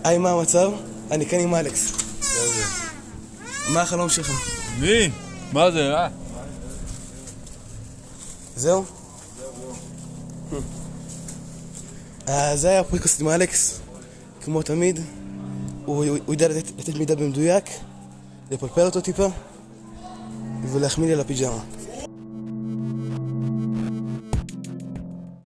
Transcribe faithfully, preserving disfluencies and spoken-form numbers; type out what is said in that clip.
היי, מה המצב? אני כאן עם אלכס. מה החלום שלך? מי? מה זה, אה? זהו? זה היה הפודקאסט עם אלכס. כמו תמיד, הוא ידע לתת מידע במדויק, לפלפל אותו טיפה ולהחמיא לי על הפיג'מה.